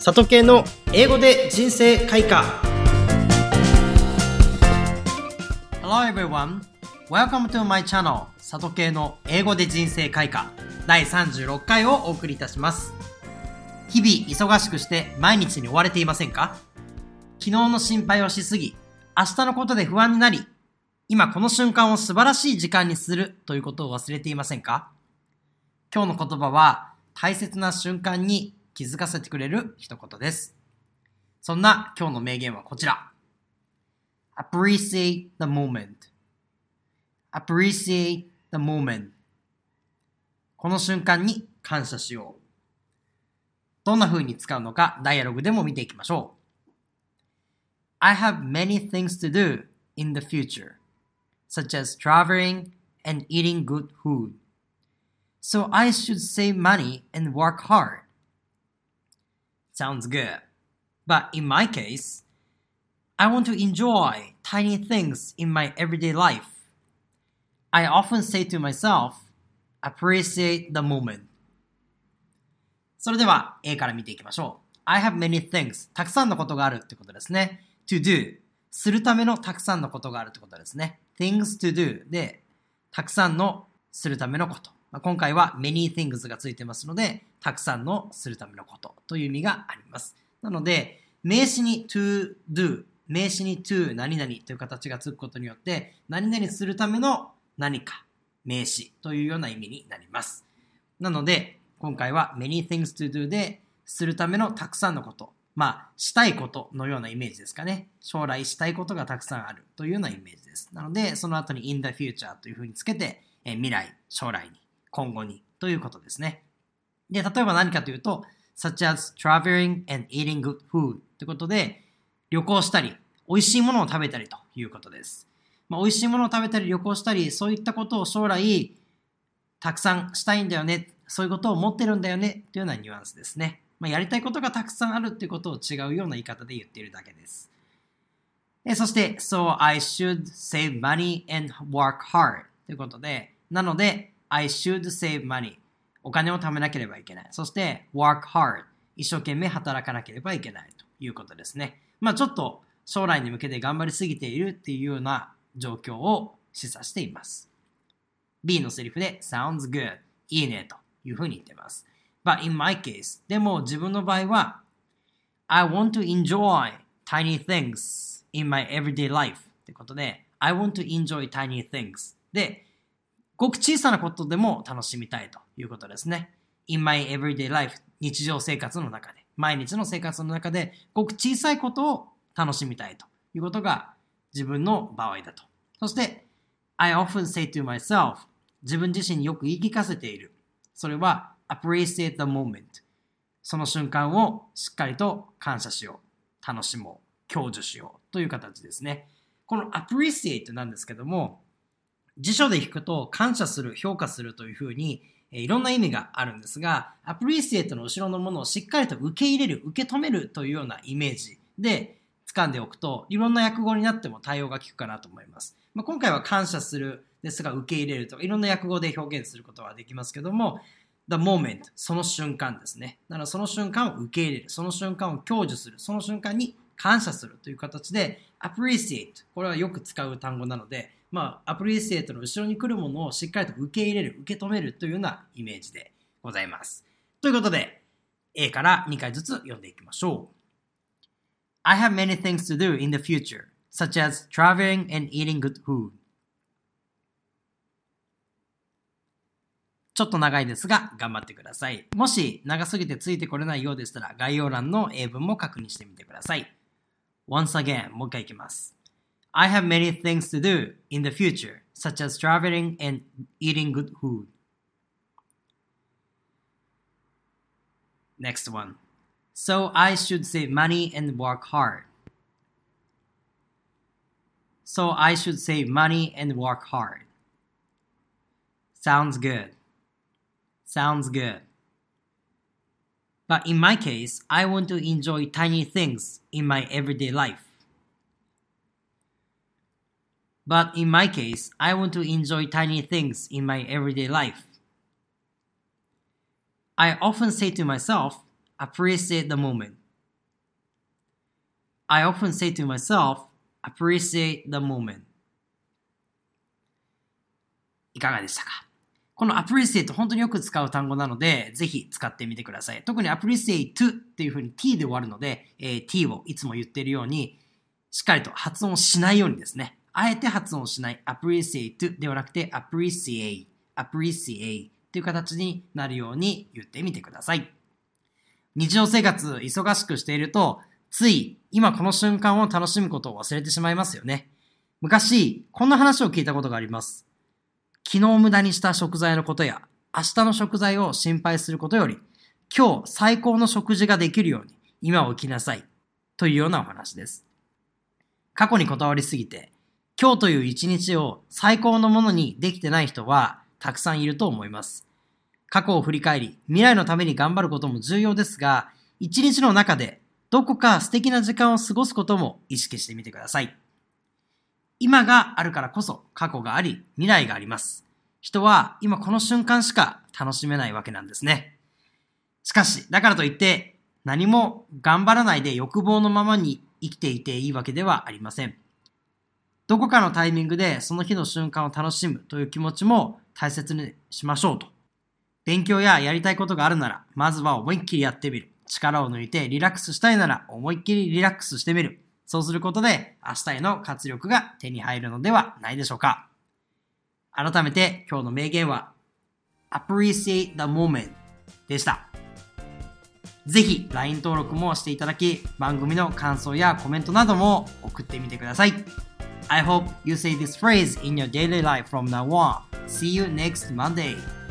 里系の英語で人生開花。 Hello everyone, welcome to my channel 里系の英語で人生開花第36回をお送りいたします。日々忙しくして毎日に追われていませんか？昨日の心配をしすぎ、明日のことで不安になり、今この瞬間を素晴らしい時間にするということを忘れていませんか？今日の言葉は大切な瞬間に気づかせてくれる一言です。そんな今日の名言はこちら。Appreciate the moment. Appreciate the moment. この瞬間に感謝しよう。どんな風に使うのかダイアログでも見ていきましょう。I have many things to do in the future, such as traveling and eating good food. So I should save money and work hard.Sounds good. But in my case, I want to enjoy tiny things in my everyday life. I often say to myself, appreciate the moment. それでは A から見ていきましょう。I have many things. たくさんのことがあるってことですね。To do. するためのたくさんのことがあるってことですね。Things to do で、たくさんのするためのこと。今回は many things がついてますので、たくさんのするためのことという意味があります。なので、名詞に to do、名詞に to 何々という形がつくことによって、何々するための何か、名詞というような意味になります。なので、今回は many things to do で、するためのたくさんのこと、したいことのようなイメージですかね。将来したいことがたくさんあるというようなイメージです。なので、その後に in the future というふうにつけて、未来、将来に、今後にということですね。で、例えば何かというと、such as traveling and eating good food ということで、旅行したり、美味しいものを食べたりということです。美味しいものを食べたり、旅行したり、そういったことを将来、たくさんしたいんだよね、そういうことを持ってるんだよね、というようなニュアンスですね。やりたいことがたくさんあるっていうことを違うような言い方で言っているだけです。そして、so I should save money and work hard ということで、なので、I should save money お金を貯めなければいけない。そして work hard 一生懸命働かなければいけないということですね。ちょっと将来に向けて頑張りすぎているっていうような状況を示唆しています。B のセリフで sounds good いいねというふうに言っています。But in my case でも自分の場合は I want to enjoy tiny things in my everyday life ということで I want to enjoy tiny things でごく小さなことでも楽しみたいということですね。In my everyday life 日常生活の中で毎日の生活の中でごく小さいことを楽しみたいということが自分の場合だと。そして I often say to myself 自分自身によく言い聞かせている。それは appreciate the moment その瞬間をしっかりと感謝しよう。楽しもう。享受しようという形ですね。この appreciate なんですけども辞書で引くと感謝する、評価するというふうにいろんな意味があるんですが、appreciate の後ろのものをしっかりと受け入れる、受け止めるというようなイメージで掴んでおくと、いろんな訳語になっても対応が効くかなと思います。今回は感謝するですが受け入れるとか、いろんな訳語で表現することはできますけども、the moment その瞬間ですね。だからその瞬間を受け入れる、その瞬間を享受する、その瞬間に感謝するという形で appreciate これはよく使う単語なのでappreciate の後ろに来るものをしっかりと受け入れる、受け止めるというようなイメージでございます。ということで A から2回ずつ読んでいきましょう。I have many things to do in the future, such as traveling and eating good food. ちょっと長いですが頑張ってください。もし長すぎてついてこれないようでしたら概要欄の英文も確認してみてください。Once again もう一回いきます。I have many things to do in the future, such as traveling and eating good food. Next one. So I should save money and work hard. So I should save money and work hard. Sounds good. Sounds good. But in my case, I want to enjoy tiny things in my everyday life.But in my case, I want to enjoy tiny things in my everyday life. I often say to myself, appreciate the moment. I often say to myself, appreciate the moment. いかがでしたか？この appreciate 本当によく使う単語なので、ぜひ使ってみてください。特に appreciate っていう風に t で終わるので、t をいつも言っているように、しっかりと発音しないようにですね。あえて発音しない appreciate ではなくて appreciate という形になるように言ってみてください。日常生活忙しくしていると、つい今この瞬間を楽しむことを忘れてしまいますよね。昔、こんな話を聞いたことがあります。昨日無駄にした食材のことや、明日の食材を心配することより、今日最高の食事ができるように今を生きなさいというようなお話です。過去にこだわりすぎて、今日という一日を最高のものにできてない人はたくさんいると思います。過去を振り返り、未来のために頑張ることも重要ですが、一日の中でどこか素敵な時間を過ごすことも意識してみてください。今があるからこそ過去があり、未来があります。人は今この瞬間しか楽しめないわけなんですね。しかし、だからといって何も頑張らないで欲望のままに生きていていいわけではありません。どこかのタイミングでその日の瞬間を楽しむという気持ちも大切にしましょうと。勉強ややりたいことがあるなら、まずは思いっきりやってみる。力を抜いてリラックスしたいなら、思いっきりリラックスしてみる。そうすることで明日への活力が手に入るのではないでしょうか。改めて今日の名言は Appreciate the moment でした。ぜひ LINE 登録もしていただき、番組の感想やコメントなども送ってみてください。I hope you say this phrase in your daily life from now on. See you next Monday.